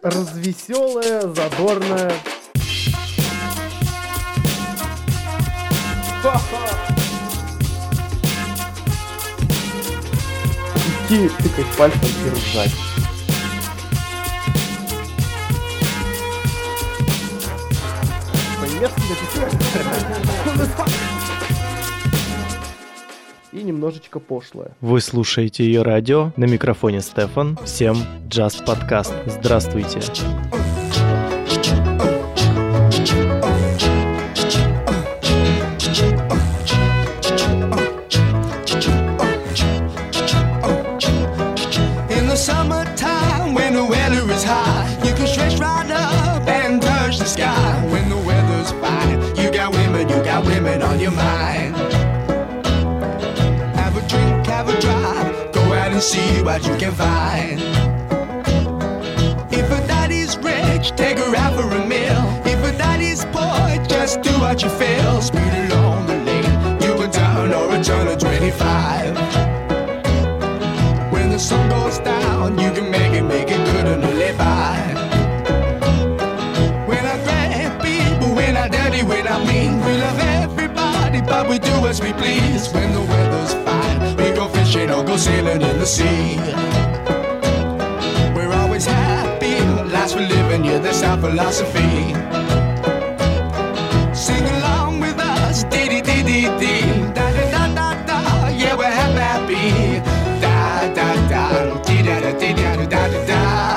развеселая, задорная. Идти тыкать пальцем и ржать. И немножечко пошлое. Вы слушаете ее радио, на микрофоне Стефан. Всем Джаз Подкаст. Здравствуйте. Women on your mind. Have a drink, have a drive. Go out and see what you can find. If a daddy's rich, take her out for a meal. If a daddy's poor, just do what you feel. Speed along the lane, you a turn or a turn of 25. When the sun goes down, you can make it good and live by. When I grab people, when I dirty, when I mean, we love everybody, but we do as we please. When the weather's fine, we go fishing or go sailing in the sea. We're always happy, life's for living, yeah, that's our philosophy. Sing along with us, dee-dee-dee-dee-dee, da-da-da-da-da, yeah, we're happy, da-da-da, dee-da-da-dee-da-da-da-da.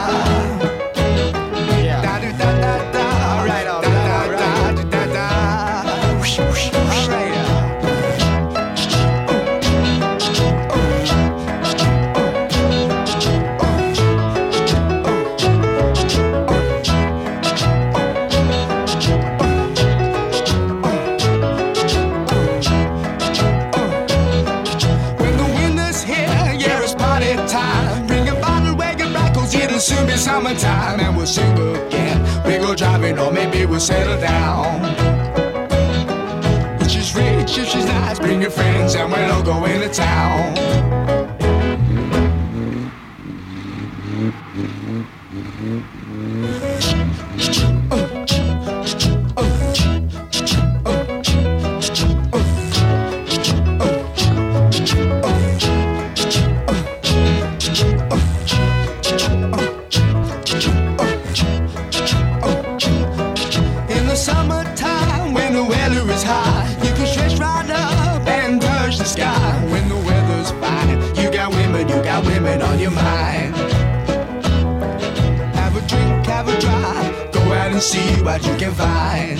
Soon be summertime and we'll sing again. We go driving or maybe we'll settle down. If she's rich, if she's nice, bring your friends and we'll all go into town. Women on your mind. Have a drink, have a drive. Go out and see what you can find.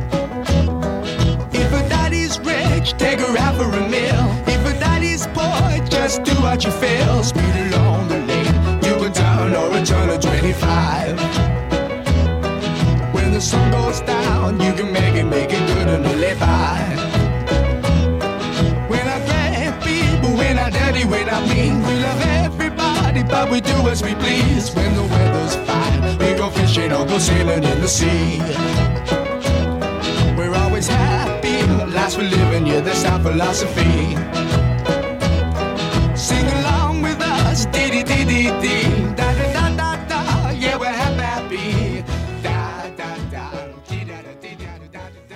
If a daddy's rich, take her out for a meal. If a daddy's poor, just do what you feel. Speed along the lane, you can turn or a turn of 25. When the sun goes down, you can make it good and live by. When I grab people, when I dirty, when I mean, we love everybody, but we do as we please. When the weather's fine, we go fishing or go sailing in the sea. We're always happy, life's for living, yeah, that's our philosophy. Sing along with us, dee-dee-dee-dee-dee, da-da-da-da-da, yeah, we're happy, da-da-da, dee-da-da-dee-da-da-da-da.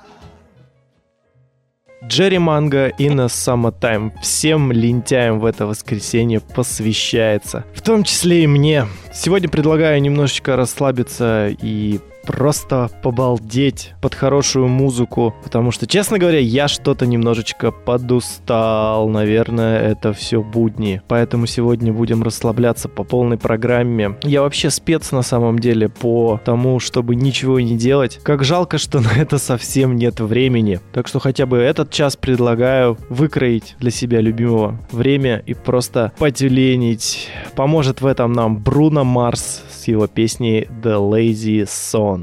Джерри Манго и на Summertime всем лентяям в это воскресенье посвящается. В том числе и мне. Сегодня предлагаю немножечко расслабиться и просто побалдеть под хорошую музыку, потому что, честно говоря, я что-то немножечко подустал. Наверное, это все будни. Поэтому сегодня будем расслабляться по полной программе. Я вообще спец на самом деле по тому, чтобы ничего не делать. Как жалко, что на это совсем нет времени. Так что хотя бы этот час предлагаю выкроить для себя любимого время и просто потюленить. Поможет в этом нам Бруно Марс с его песней The Lazy Song.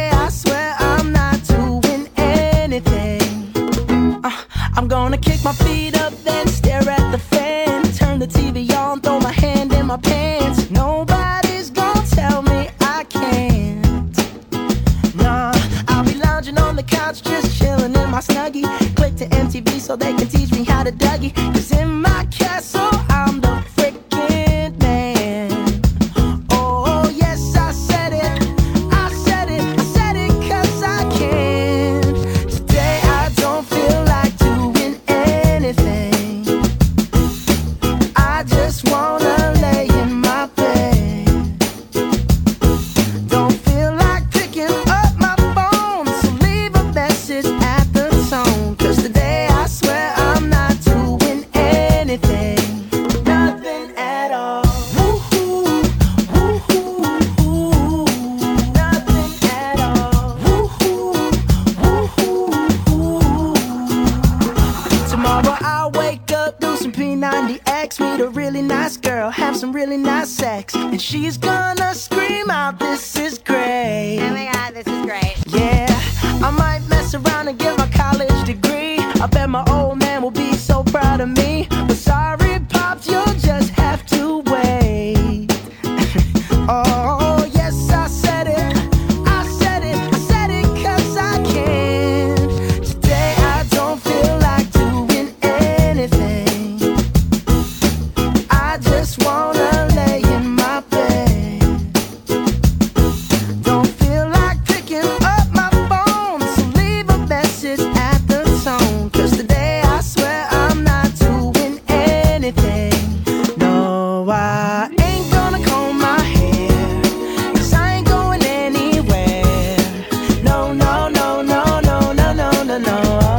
My feet feet up, then stare at the fan. Turn the TV on, throw my hand in my pants. Nobody's gonna tell me I can't. Nah, I'll be lounging on the couch, just chilling in my Snuggie. Click to MTV so they can teach me how to Dougie. 'Cause in my castle, I'm the freaking man. Oh, yes, I said it. I said it. I said it 'cause I can. Today I don't feel like doing anything. I just wanna lay in my bed. Don't feel like picking up my phone, so leave a message at the tone. 'Cause today I swear I'm not doing anything. Nothing at all. Woo-hoo, woo-hoo, woo-hoo. Nothing at all. Woo-hoo, woo-hoo, woo-hoo. Tomorrow I'll wake up, do some P90X, meet a really nice girl, have some really nice sex, and she's gonna scream out, "This is great." Oh my god, this is great. Yeah, I might mess around and get my college degree. I bet my old man will be so proud of me. But sorry, Pops, you'll just have to wait. Oh, yes, I said it. I said it. I said it 'cause I can. Today I don't feel like doing anything. I just wanna lay in my bed. Don't feel like picking up my phone, so leave a message at the tone. 'Cause today I swear I'm not doing anything. No, I ain't gonna comb my hair, 'cause I ain't going anywhere. No, no, no, no, no, no, no, no, no.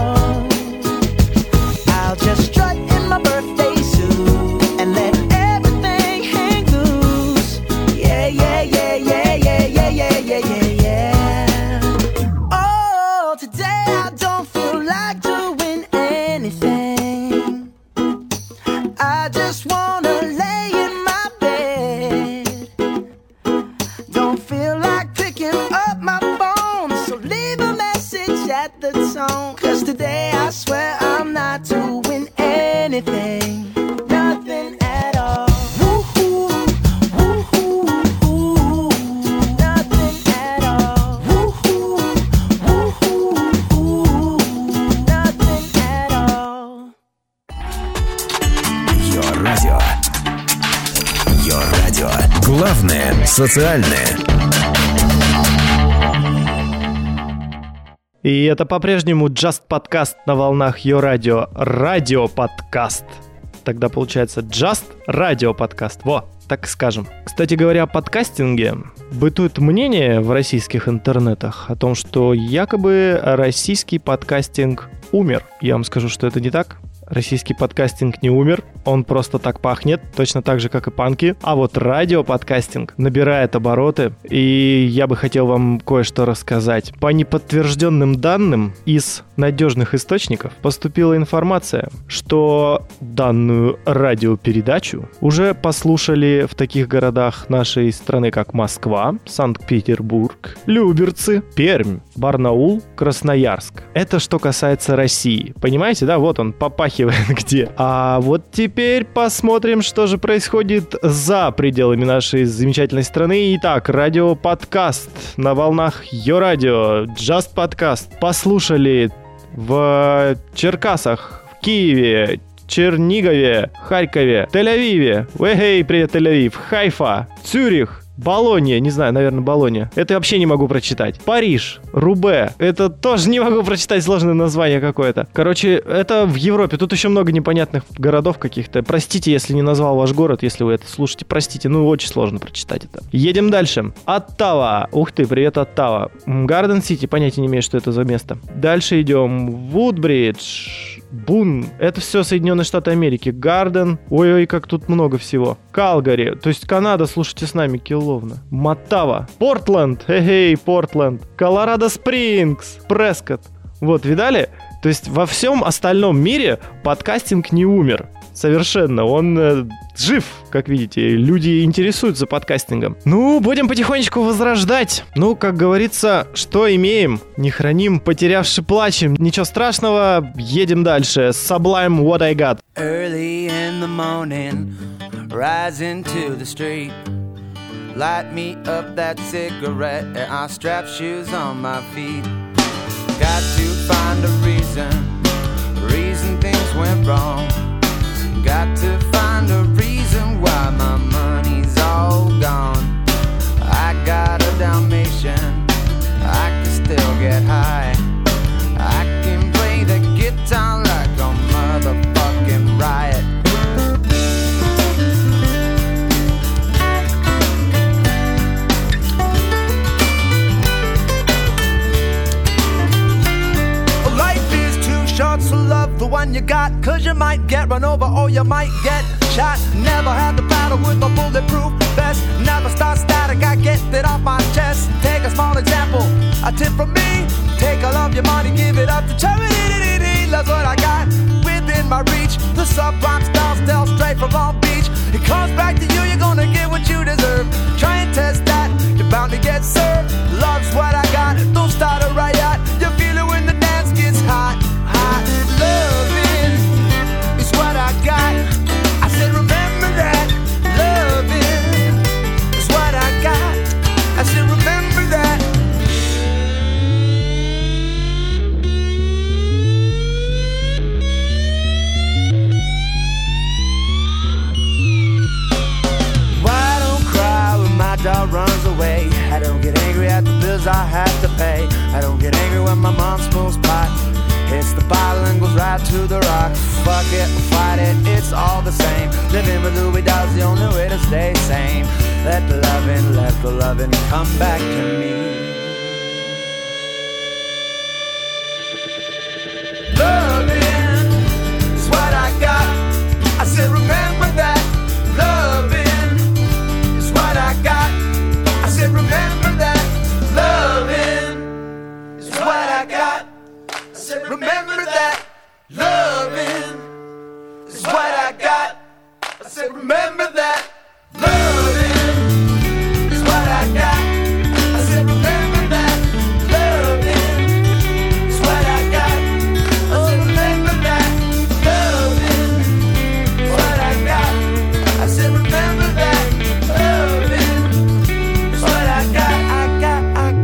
I'll just strut in my birthday suit and let everything hang loose. Yeah, yeah, yeah, yeah, yeah, yeah, yeah, yeah, yeah, yeah. Oh, today I don't feel like doing anything. I just wanna lay in my bed. Don't feel like picking up my phone, so leave a message at the tone. 'Cause today I swear I'm not doing anything. Nothing at all. Woo-hoo, woo-hoo, woo-hoo. Nothing at all. Woo-hoo, woo-hoo, woo-hoo. Nothing at all. Your Radio. Your Radio. Главное социальное. И это по-прежнему Just Podcast на волнах Your Radio. Радио-подкаст. Тогда получается Just Radio-подкаст. Во, так скажем. Кстати говоря, о подкастинге. Бытует мнение в российских интернетах о том, что якобы российский подкастинг умер. Я вам скажу, что это не так. Российский подкастинг не умер, он просто так пахнет, точно так же, как и панки. А вот радиоподкастинг набирает обороты, и я бы хотел вам кое-что рассказать. По неподтвержденным данным из надежных источников поступила информация, что данную радиопередачу уже послушали в таких городах нашей страны, как Москва, Санкт-Петербург, Люберцы, Пермь, Барнаул, Красноярск. Это что касается России. Понимаете, да? Вот он попахивает где. А вот теперь посмотрим, что же происходит за пределами нашей замечательной страны. Итак, радиоподкаст на волнах Your Radio, Just Podcast. Послушали в Черкасах, в Киеве, Чернигове, Харькове, Тель-Авиве. Эй, привет, Тель-Авив. Хайфа, Цюрих, Болонья, не знаю, наверное, Болонья. Это я вообще не могу прочитать. Париж, Рубе. Это тоже не могу прочитать, сложное название какое-то. Короче, это в Европе. Тут еще много непонятных городов каких-то. Простите, если не назвал ваш город, если вы это слушаете. Простите, ну очень сложно прочитать это. Едем дальше. Оттава. Ух ты, привет, Оттава. Гарден-Сити, понятия не имею, что это за место. Дальше идем. Вудбридж. Бун. Это все Соединенные Штаты Америки. Гарден. Ой-ой, как тут много всего. Калгари. То есть Канада, слушайте с нами, Килловна. Матава. Портленд. Эй, Портленд. Колорадо Спрингс. Прескотт. Вот, видали? То есть во всем остальном мире подкастинг не умер. совершенно. Он жив, как видите. Люди интересуются подкастингом. Ну, будем потихонечку возрождать. Ну, как говорится, что имеем, не храним, потерявши плачем. Ничего страшного, едем дальше. Sublime What I Got. Early in the morning, rise into the street. Light me up that cigarette and I strap shoes on my feet. Got to find a reason things went wrong. Got to find a reason why my money's all gone. I got a Dalmatian, I can still get high. I can play the guitar like a motherfucking riot. So love the one you got, cause you might get run over or you might get shot. Never had to battle with a bulletproof vest. Never start static, I get it off my chest. Take a small example, a tip from me. Take all of your money, give it up to charity. Love's what I got within my reach. The sublime style straight from Long Beach. It comes back to you, you're gonna get what you deserve. Try and test that, you're bound to get served. Love's what I got, don't start a riot. You feel it when the dance gets hot. Loving is what I got. I said remember that. Loving is what I got. I said remember that. Why don't cry when my dog runs away? I don't get angry at the bills I have to pay. I don't get angry when my mom smokes pot. Hits the bottle and goes right to the rock. Fuck it, fight it, it's all the same. Living with Louis Dog's the only way to stay sane. Let the loving come back to me. Loving is what I got. I said remember that. Loving is what I got. I said remember that. Loving is what I got. Remember that. Loving is what I got. I said remember that. Loving is what I got. I said remember that. Loving is what I got. I said remember that. Loving is what I got. I said remember that. Loving is what I got. I got.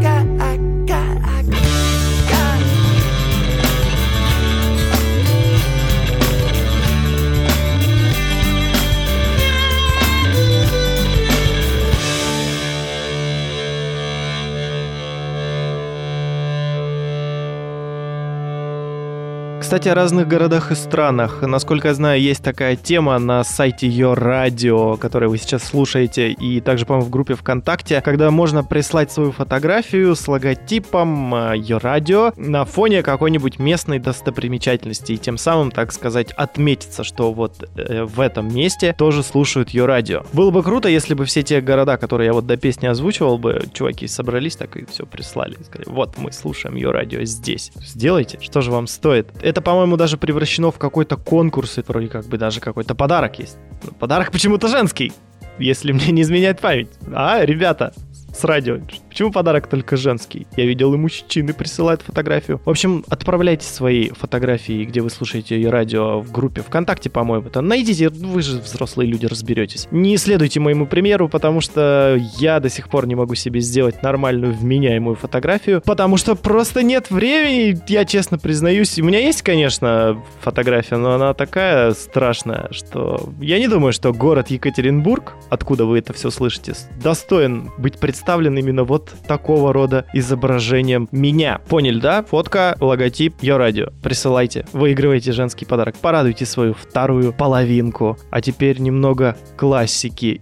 Кстати, о разных городах и странах. Насколько я знаю, есть такая тема на сайте Your Radio, который вы сейчас слушаете, и также, по-моему, в группе ВКонтакте, когда можно прислать свою фотографию с логотипом Your Radio на фоне какой-нибудь местной достопримечательности, и тем самым, так сказать, отметиться, что вот в этом месте тоже слушают Your Radio. Было бы круто, если бы все те города, которые я вот до песни озвучивал бы, чуваки собрались так и все прислали. Сказали, вот мы слушаем Your Radio здесь. Сделайте, что же вам стоит. Это, по-моему, даже превращено в какой-то конкурс, и вроде как бы даже какой-то подарок есть. Но подарок почему-то женский, если мне не изменяет память. А, ребята, с радио. Почему подарок только женский? Я видел, и мужчины присылают фотографию. В общем, отправляйте свои фотографии, где вы слушаете ее радио, в группе ВКонтакте, по-моему. Там найдите, вы же взрослые люди, разберетесь. Не следуйте моему примеру, потому что я до сих пор не могу себе сделать нормальную вменяемую фотографию, потому что просто нет времени, я честно признаюсь. У меня есть, конечно, фотография, но она такая страшная, что я не думаю, что город Екатеринбург, откуда вы это все слышите, достоин быть представлен именно вот такого рода изображением меня. Поняли, да? Фотка, логотип, Your Radio. Присылайте, выигрывайте женский подарок. Порадуйте свою вторую половинку. А теперь немного классики.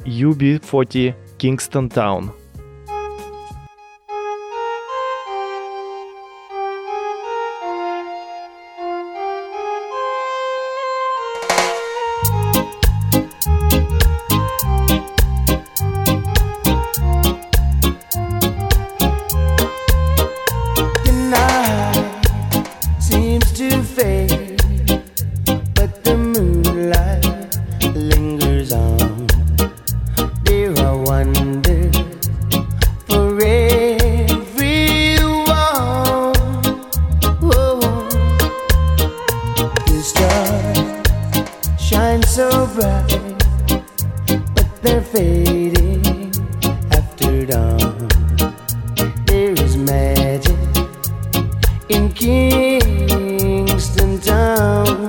UB40 Kingston Town. Seems to fade, but the moonlight shine so bright, but they're fading after dawn. There is magic in Kingston Town.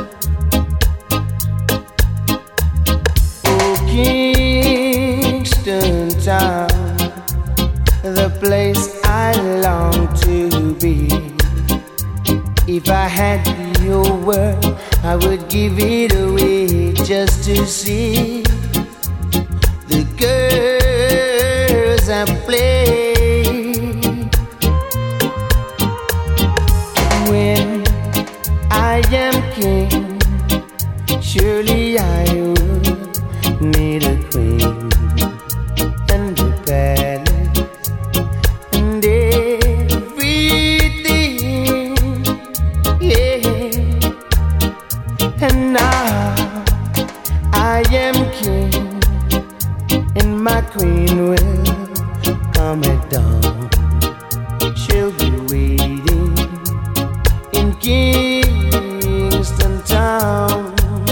Oh, Kingston Town, the place I long to be. If I had your word, I would give it away just to see the girls I play. When I am king, surely I would need a queen and a palace and everything, yeah. And now I am king, and my queen will come at dawn. She'll be waiting in Kingston Town.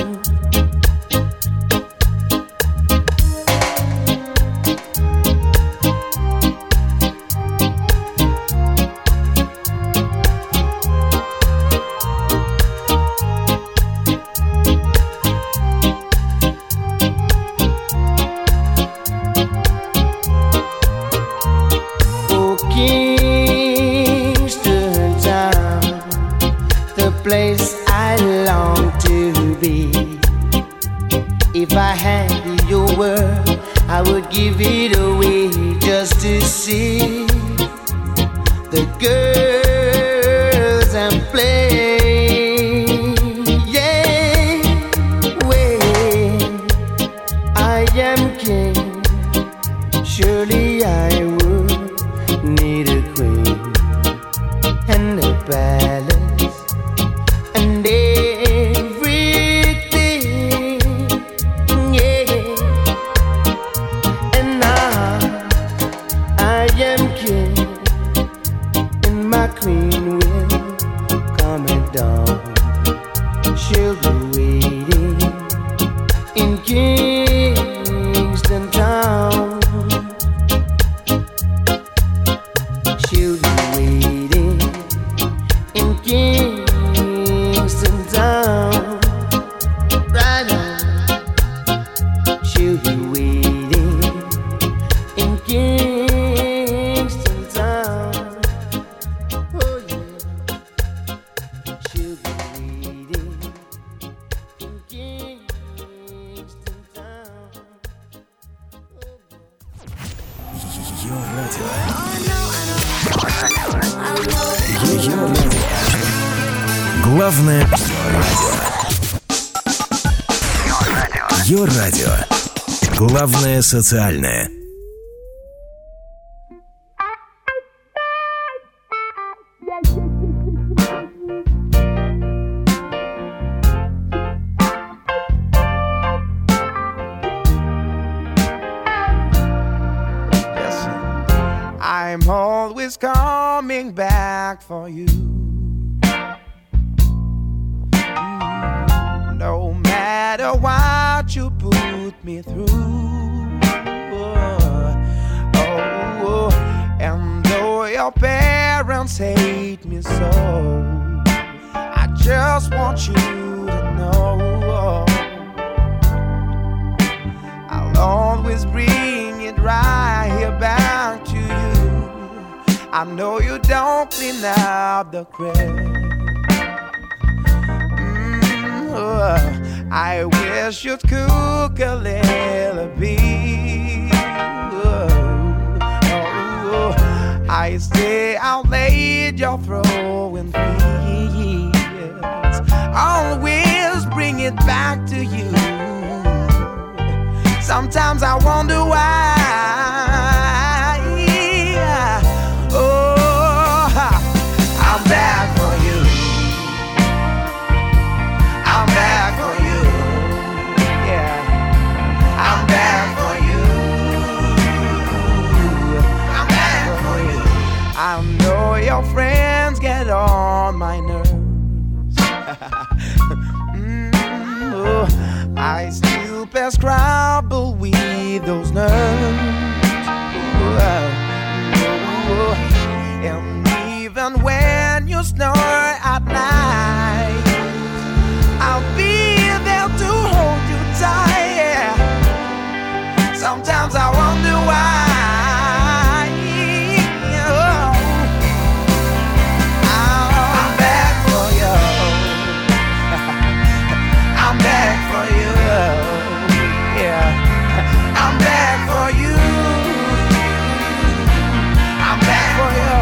Place I long to be. If I had your word, I would give it away just to see the girls and play. Yeah, when I am king, surely I would need a queen and a palace and everything, yeah. And now I am king, and my queen will come at dawn. She'll be waiting in Kingston Town. She'll be waiting in Kingston Town, right on. She'll be waiting in Kingston Town. Oh yeah. She'll be waiting in Kingston Town. Ее радио. Ее радио. Главное радио. Ее радио. Главное социальное. I'm always coming back for you. No matter what you put me through. Oh, and though your parents hate me so, I just want you to know I'll always bring it right here back to you. I know you don't clean up the cracks. I wish you'd cook a little bit. I stay out late, you're throwing fits. Always bring it back to you. Sometimes I wonder why. I'm back for you. I'm back for you. Yeah, I'm back for you. I'm back for you. I know your friends get on my nerves. I still pass Scrabble with those nerves. And even when you snore at night, I'll be there to hold you tight. Yeah. Sometimes I wonder why. I'm back for you. I'm back for you. Yeah. I'm back for you. I'm back for you.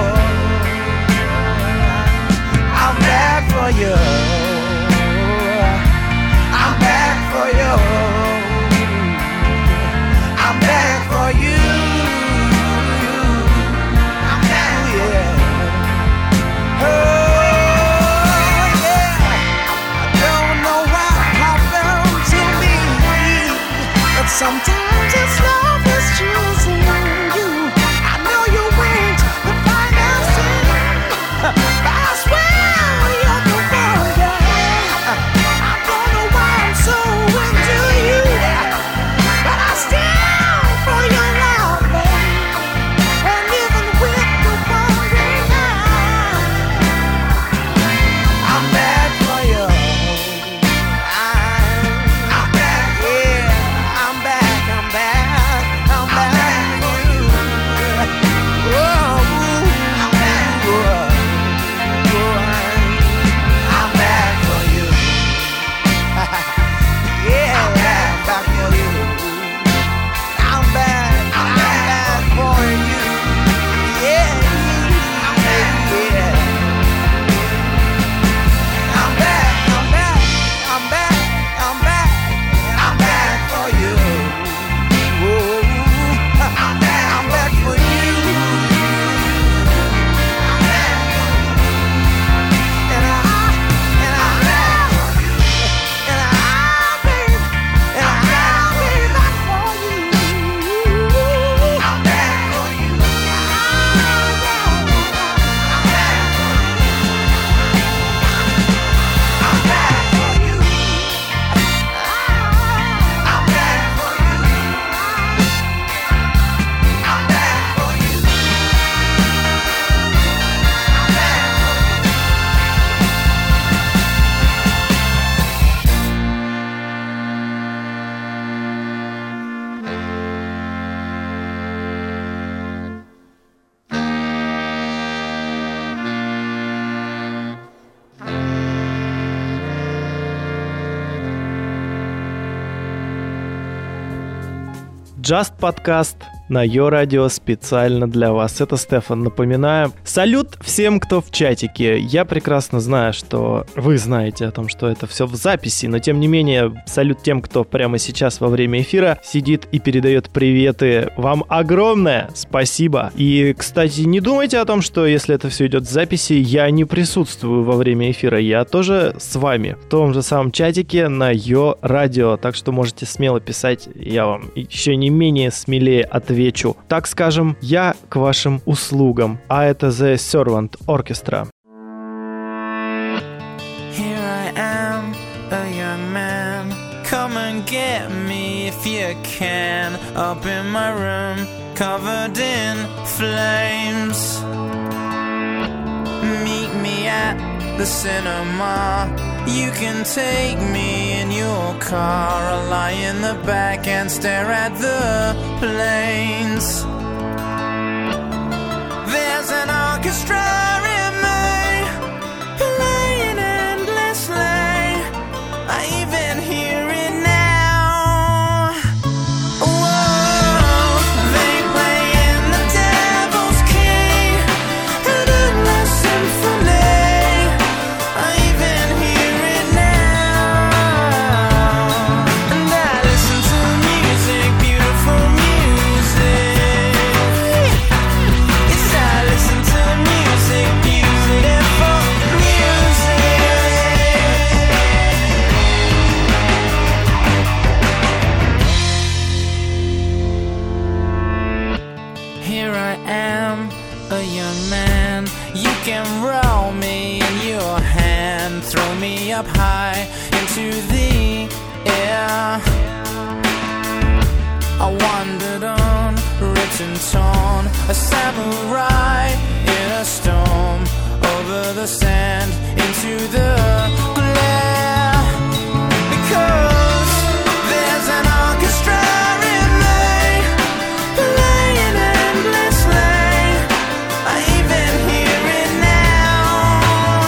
I'm back for you. I'm back for you. I'm back for you. I'm back, yeah. Oh, yeah. I don't know what happened to me, but sometimes it's love is choosing you. I know you ain't the finest thing, but I swear you're the one, yeah. I don't know why I'm so into you, but I stand for your love, babe. And even with the wandering eye, I'm back for you. I'm back, yeah. I'm back, I'm back, I'm back for you. Whoa, I'm back, whoa, I'm back for you. Yeah, I'm back for you. I'm back for you. Yeah, I'm back, yeah. I'm back, I'm back, I'm back, I'm back, I'm back for you. Whoa, I'm back for you. I'm back for you. And I'm back for you. And I'll be back for you. I'm back for you. I'm back for you. I'm back for you. I'm back for you. I'm back for you. Just подкаст на Йо Радио специально для вас. Это Стефан. Напоминаю. Салют всем, кто в чатике. Я прекрасно знаю, что вы знаете о том, что это все в записи, но тем не менее, салют тем, кто прямо сейчас во время эфира сидит и передает приветы. Вам огромное спасибо. И, кстати, не думайте о том, что если это все идет в записи, я не присутствую во время эфира. Я тоже с вами в том же самом чатике на Йо Радио. Так что можете смело писать. Я вам еще не менее смелее отвечу. Так скажем, я к вашим услугам. А это The Servant Orchestra. Here I am, a young man. Come and get me if you can. Up in my room, covered in flames. Meet me at the cinema. You can take me in your car. I'll lie in the back and stare at the planes. There's an orchestra in me, playing endlessly. I even hear it now. Whoa, they play in the devil's key, an endless symphony. I even hear it now. And I listen to music, beautiful music. Yes, I listen to music, a samurai in a storm, over the sand, into the glare. Because there's an orchestra in me, playing endlessly. I even hear it now.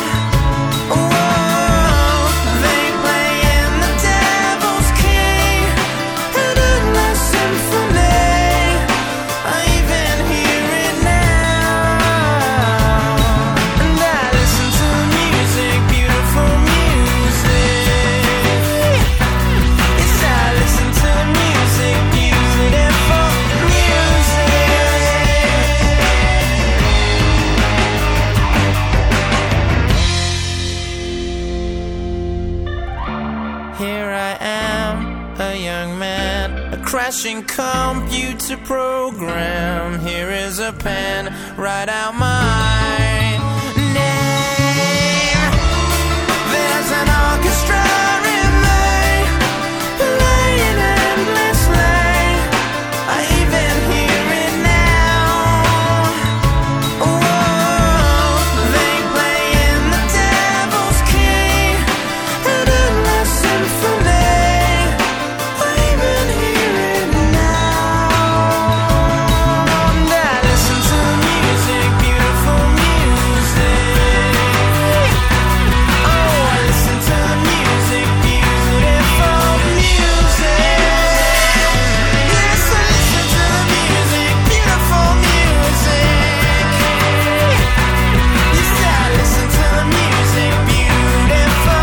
Whoa, they play in the devil's key, an endless symphony. I even hear it now. And I listen to music, beautiful music. Yes, I listen to music, beautiful music. Here I am, a young man, a crashing computer program. Here is a pen, write out my name. There's an orchestra in me, playing endlessly. I even hear it now. Whoa, they play in the devil's key, an endless symphony. I even hear it now. And I listen to music, beautiful music. Oh, I listen to music, beautiful music. Yes, I listen to the music, beautiful music. Yes, I listen to the music, beautiful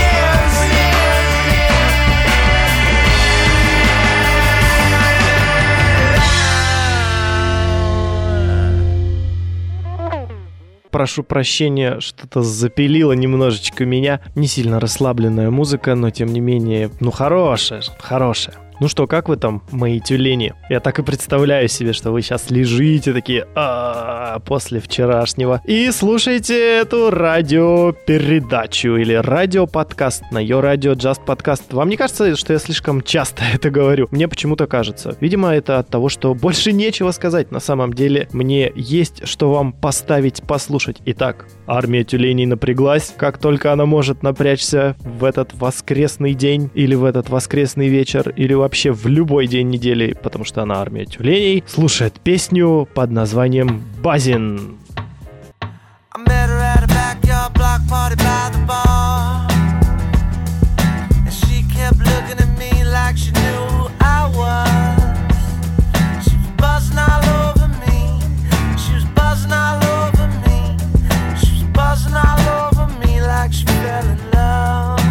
music. Прошу прощения, что-то запилило немножечко меня. Не сильно расслабленная музыка, но тем не менее, хорошая. Ну что, как вы там, мои тюлени? Я так и представляю себе, что вы сейчас лежите такие после вчерашнего и слушаете эту радиопередачу или радиоподкаст на Your Radio Just Podcast. Вам не кажется, что я слишком часто это говорю? Мне почему-то кажется. Видимо, это от того, что больше нечего сказать. На самом деле, мне есть что вам поставить, послушать. Итак, армия тюленей напряглась. Как только она может напрячься в этот воскресный день или в этот воскресный вечер или вообще в любой день недели, потому что она армия тюленей, слушает песню под названием «Базин». I met her at a backyard block party by the bar, and she kept looking at me like she knew who I was. She was buzzing all over me. She was buzzing all over me. She was buzzing all over me like she fell in love.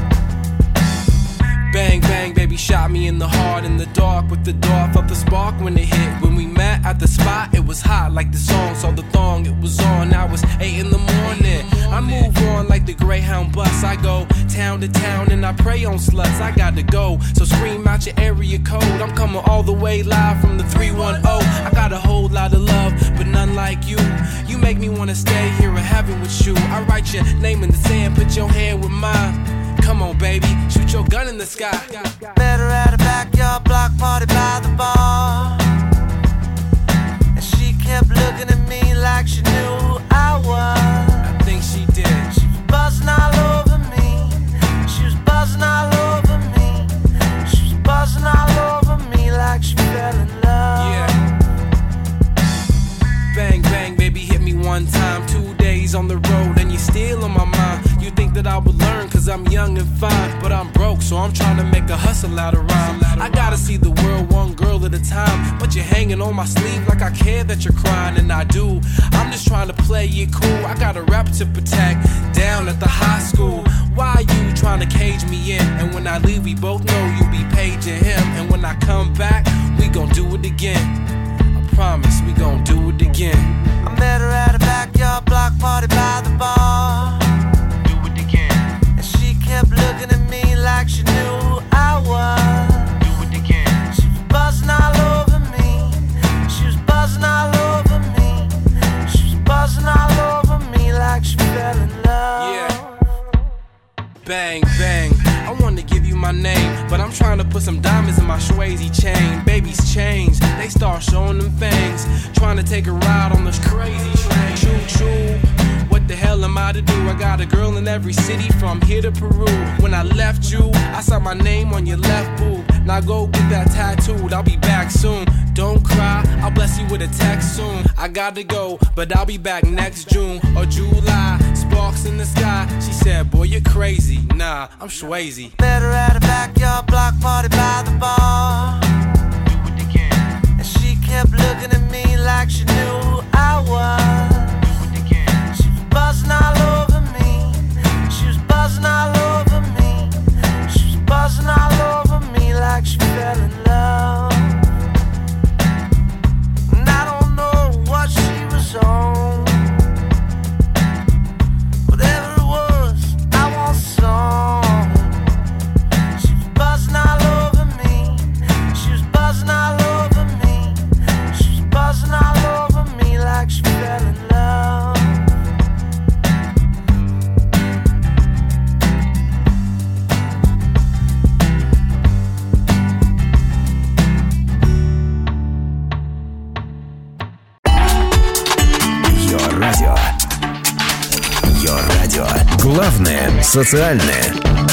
Bang, bang, baby shot me in the heart in the dark with the door. Felt the spark when it hit. When we met at the spot, it was hot like the song. Saw the thong, it was on. Now it's 8 in the morning. I move on like the Greyhound bus. I go town to town and I prey on sluts. I got to go, so scream out your area code. I'm coming all the way live from the 310. I got a whole lot of love, but none like you. You make me wanna stay here in heaven with you. I write your name in the sand, put your hand with mine. Come on, baby, shoot your gun in the sky. Met her at a backyard block party by the bar, and she kept looking at me like she knew who I was. I think she did. She was buzzing all over me. She was buzzing all over me. She was buzzing all over me like she fell in love. Yeah. Bang, bang, baby, hit me one time. 2 days on the road and you're still on my mind. You think that I would learn cause I'm young and fine, but I'm broke, so I'm trying to make a hustle out of rhyme. I gotta see the world one girl at a time, but you're hanging on my sleeve like I care that you're crying, and I do. I'm just trying to play it cool. I got a rap to protect down at the high school. Why are you trying to cage me in? And when I leave, we both know you'll be paging him. And when I come back, we gon' do it again. I promise we gon' do it again. I met her at a backyard block party by the bar. Do it again. And she kept looking at me like she knew who I was. Do it again. She was buzzing all over me. She was buzzing all over me. She was buzzing all over me like she fell in love. Yeah. Bang, bang, I wanna give you my name. but I'm trying to put some diamonds in my Swayze chain. Babies change, they start showing them fangs. Trying to take a ride on this crazy train. Choo choo. What the hell am I to do? I got a girl in every city from here to Peru. When I left you, I saw my name on your left boob. Now go get that tattooed, I'll be back soon. Don't cry, I'll bless you with a text soon. I gotta go, but I'll be back next June or July. Sparks in the sky, she said, boy, you're crazy. Nah, I'm Swayze. Met her at a backyard block party by the bar. And she kept looking at me like she knew who I was. Buzzing all over me. She was buzzing all over me. She was buzzing all over me like she fell in love. And I don't know what she was on. Whatever it was, I want some. She was buzzing all over me. She was buzzing all over me. She was buzzing all over me like she fell in love. Радио. Your радио. Главное социальное.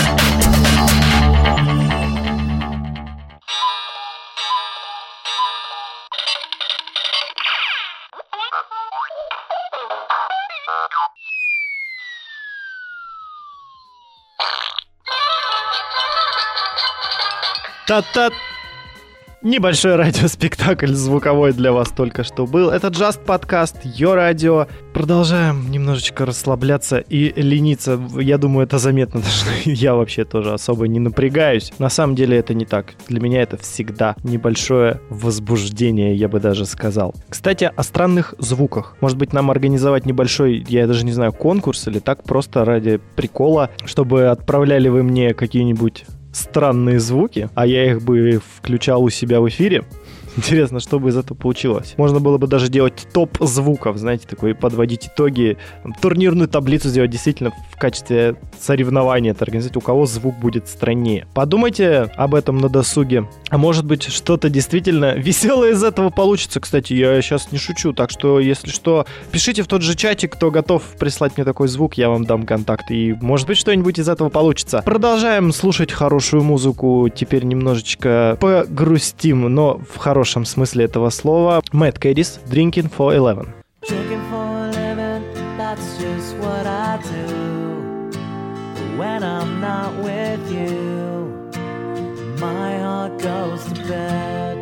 Та-та! Небольшой радиоспектакль звуковой для вас только что был. Это Just подкаст Your Radio. Продолжаем немножечко расслабляться и лениться. Я думаю, это заметно, потому что я вообще тоже особо не напрягаюсь. На самом деле это не так. Для меня это всегда небольшое возбуждение, я бы даже сказал. Кстати, о странных звуках. Может быть, нам организовать небольшой, я даже не знаю, конкурс или так просто ради прикола, чтобы отправляли вы мне какие-нибудь странные звуки, а я их бы включал у себя в эфире. Интересно, что бы из этого получилось. Можно было бы даже делать топ звуков, знаете, такой, подводить итоги, турнирную таблицу сделать действительно в качестве соревнования, это организовать, у кого звук будет страннее. Подумайте об этом на досуге. А может быть, что-то действительно веселое из этого получится. Кстати, я сейчас не шучу, так что, если что, пишите в тот же чатик, кто готов прислать мне такой звук, я вам дам контакт, и, может быть, что-нибудь из этого получится. Продолжаем слушать хорошую музыку, теперь немножечко погрустим, но в хорошем смысле этого слова. Mad Caddies, Drinking for 11. Drinking for a living, that's just what I do. When I'm not with you, my heart goes to bed.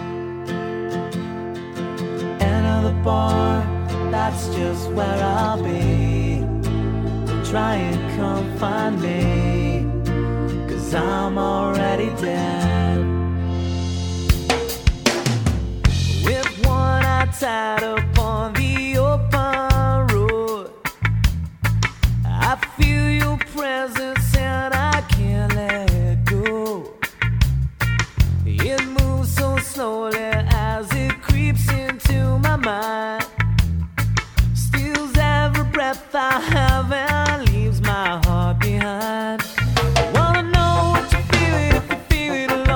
Enter the bar, that's just where I'll be. Don't try and come find me, 'cause I'm already dead. With one eye tied up on the open road, I feel your presence and I can't let go. It moves so slowly as it creeps into my mind, steals every breath I have and leaves my heart behind. I wanna know what you feel if you feel it alone.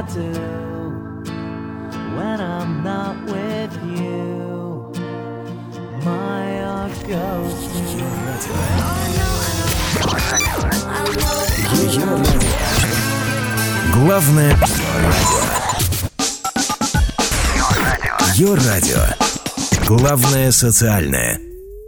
do when I'm not with you. My heart goes to Ее радио. Главное радио. Ее радио. Главное социальное.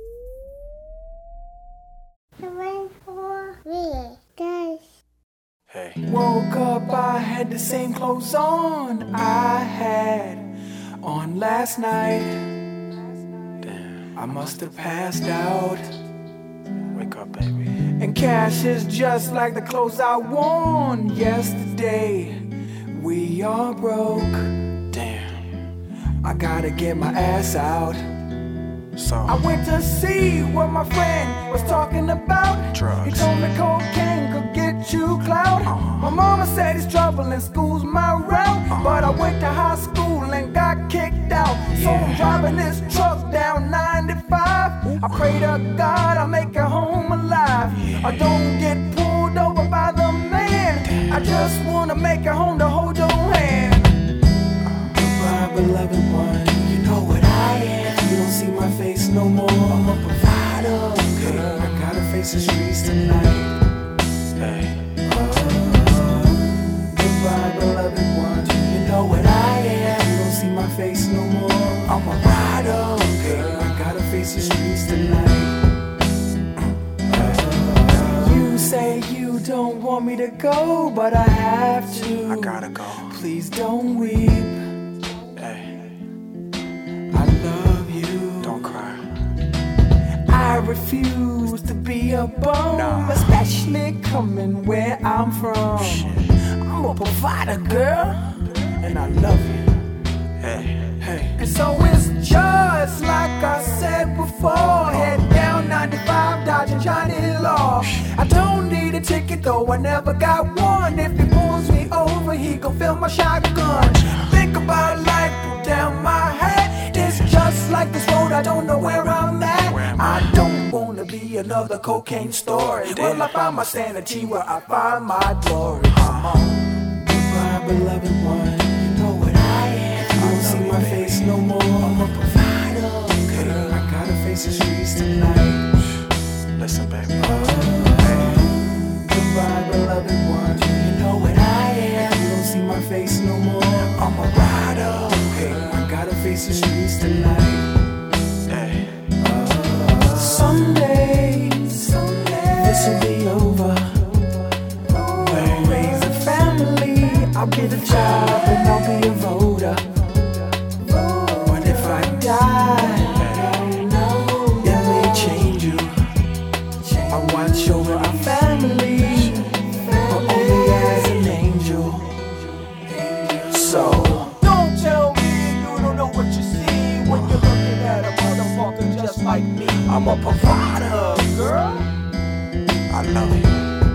Woke up, I had the same clothes on I had on last night. Damn, I must have passed out. Wake up, baby. And cash is just like the clothes I worn yesterday. We are broke. Damn, I gotta get my ass out. So I went to see what my friend was talking about. Drugs. He told me cocaine could get you clout. My mama said it's trouble and school's my route. But I went to high school and got kicked out. So I'm driving this truck down 95. I pray to God I make it home alive. I don't get pulled over by the man. I just wanna make it home to hold your hand. Goodbye, beloved one. You know what I am. You don't see my face no more. I'm a provider. Okay, I gotta face the streets tonight. Hey. Goodbye, beloved one. You know what I am. You don't see my face no more. I'm a rider. Okay, I gotta face the streets tonight. You say you don't want me to go, but I have to. I gotta go. Please don't weep. I refuse to be a bum, especially coming where I'm from. I'm a provider, girl, and I love you. Hey, hey. And so it's just like I said before. Head down 95, dodging Johnny Law. I don't need a ticket though, I never got one. If he pulls me over, he gon' fill my shotgun. Think about life, pull down my head. It's just like this road, I don't know where I'm at. I don't wanna be another cocaine story. Will I find my sanity where I find my glory? Come on. Goodbye, beloved one. You know what I am. You don't see my face no more. I'm a provider. Okay, I gotta face the streets tonight. Listen, baby. Goodbye, beloved one. You know what I am. You don't see my face no more. I'm a rider. Okay, I gotta face the streets tonight. Someday, this'll be over. We'll raise a family. I'll get a job and I'll be a voter. But if I die, it may change you. I watch over our family, but only as an angel. So don't tell me you don't know what you see when you're looking at a motherfucker just like me. I'm a provider, girl. I love you.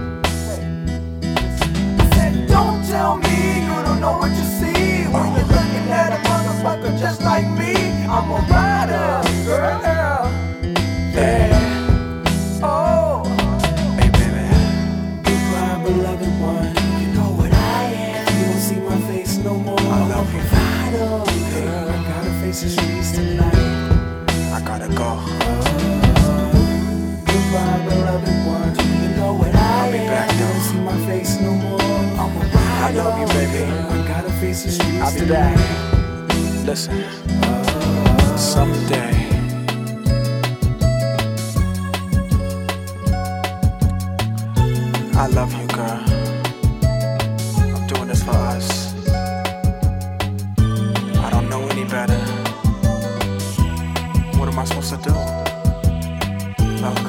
I said, don't tell me you don't know what you see when you're looking at a motherfucker just like me. I'm a rider, girl. Yeah. Oh. Hey, baby. Goodbye, beloved one. You know what I am. You don't see my face no more. I'm a provider, girl. I gotta face the streets tonight. I gotta go. Goodbye, beloved one. You know what I am. Back, you don't see my face no more. I'm a rider. I love you, baby. I gotta face the streets. I'll be back. Listen. Someday. I love you, girl. I'm doing this for us. I don't know any better. What am I supposed to do? Look.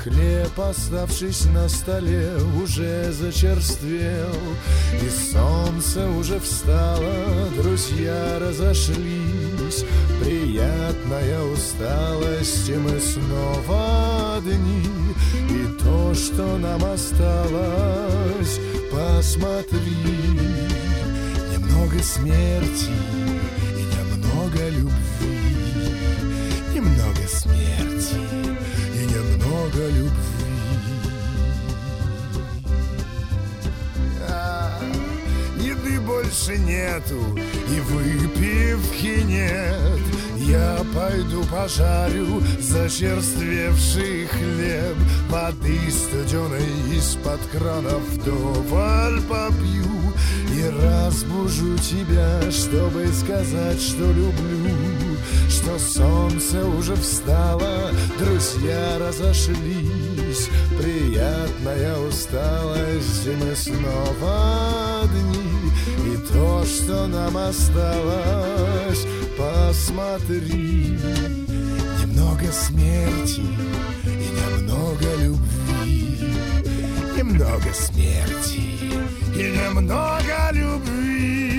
хлеб, оставшись на столе, уже зачерствел, и солнце уже встало, друзья разошлись. Приятная усталость, и мы снова одни. И то, что нам осталось, посмотри. Немного смерти и немного любви. Немного смерти и немного любви. Еды больше нету и выпивки нет. Я пойду пожарю зачерствевший хлеб. Воды студеной из-под кранов вдоволь попью. И разбужу тебя, чтобы сказать, что люблю. Что солнце уже встало, друзья разошлись. Приятная усталость, и мы снова одни. И то, что нам осталось, посмотри. Немного смерти и немного любви. Немного смерти и немного любви.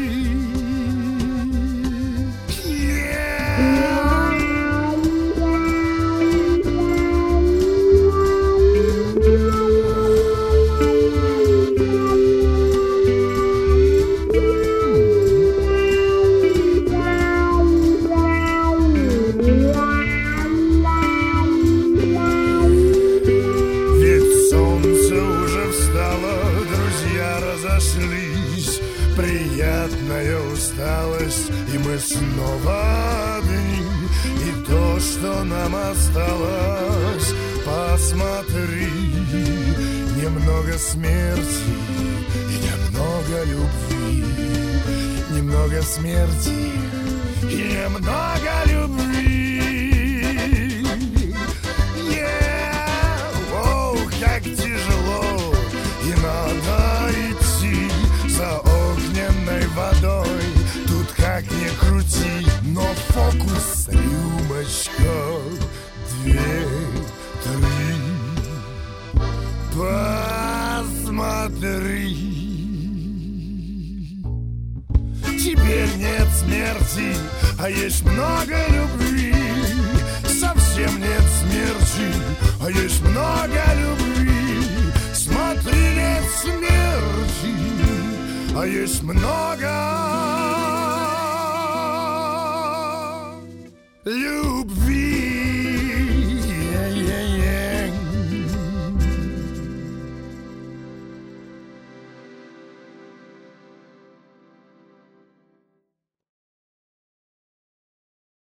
Приятная усталость, и мы снова одни. И то, что нам осталось, посмотри. Немного смерти и немного любви. Немного смерти и немного любви. Оу, как тяжело, и надо идти за огненной водой. Тут как ни крути, но фокус рюмочка, 2, 3. Посмотри. Теперь нет смерти, а есть много любви. Совсем нет смерти, а есть много любви. Смотри, нет смерти, а есть много